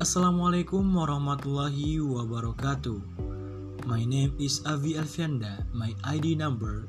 Assalamualaikum warahmatullahi wabarakatuh. My name is Avi Alfianda. My ID number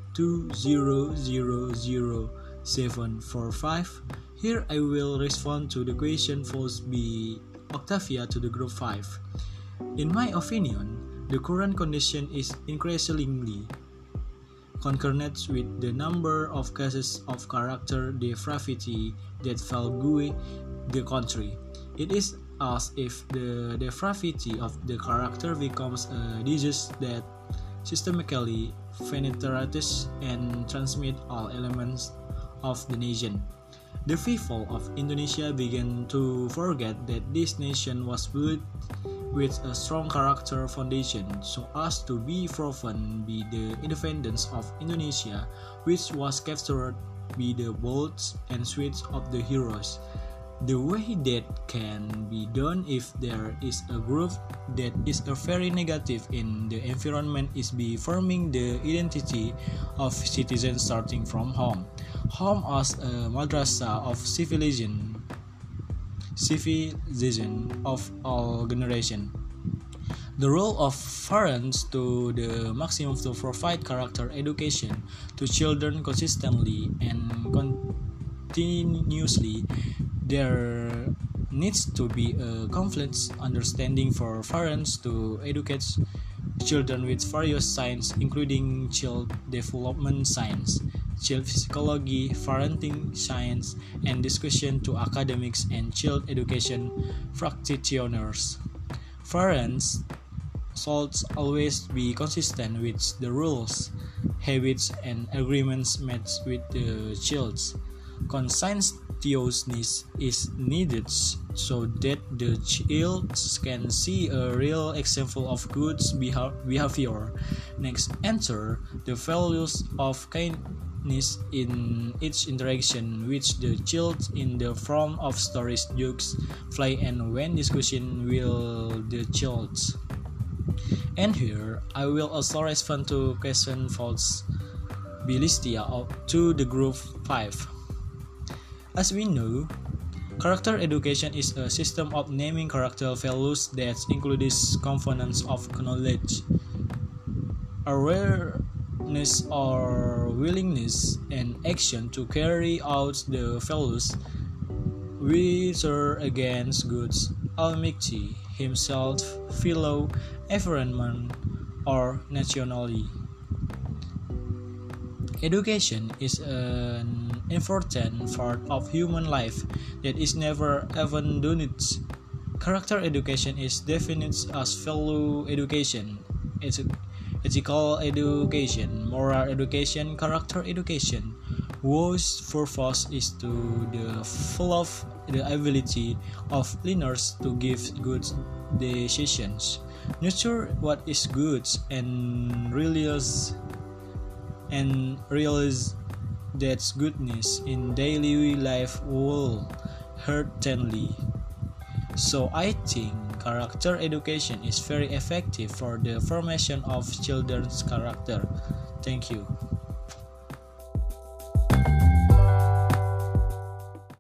2000745. Here I will respond to the question posed by Octavia to the group 5. In my opinion, the current condition is increasingly concurrent with the number of cases of character depravity that plague the country. It is as if the depravity of the character becomes a disease that systematically penetrates and transmits all elements of the nation. The people of Indonesia began to forget that this nation was built with a strong character foundation so as to be proven by the independence of Indonesia, which was captured by the bolts and sweets of the heroes. The way that can be done if there is a group that is very negative in the environment is by forming the identity of citizens starting from home. Home as a madrasa of civilization of all generations. The role of parents to the maximum to provide character education to children consistently and continuously. There needs to be a complete understanding for parents to educate children with various sciences, including child development science, child psychology, parenting science, and discussion to academics and child education practitioners. Parents should always be consistent with the rules, habits, and agreements made with the child. Conscientiousness is needed so that the child can see a real example of good behavior. Next, enter the values of kindness in each interaction with the child in the form of stories, jokes, play, and when discussion with the child. And here, I will also respond to question posed by Listia to the group 5. As we know, character education is a system of naming character values that includes components of knowledge, awareness or willingness, and action to carry out the values, whether against goods, Almighty Himself, fellow, environment, or nationally. Education is an important part of human life that is never abandoned. Character education is defined as value education, ethical education, moral education, character education, whose purpose is to develop the ability of learners to give good decisions, nurture what is good, and realize that goodness in daily life wholeheartedly. So I think character education is very effective for the formation of children's character. Thank you.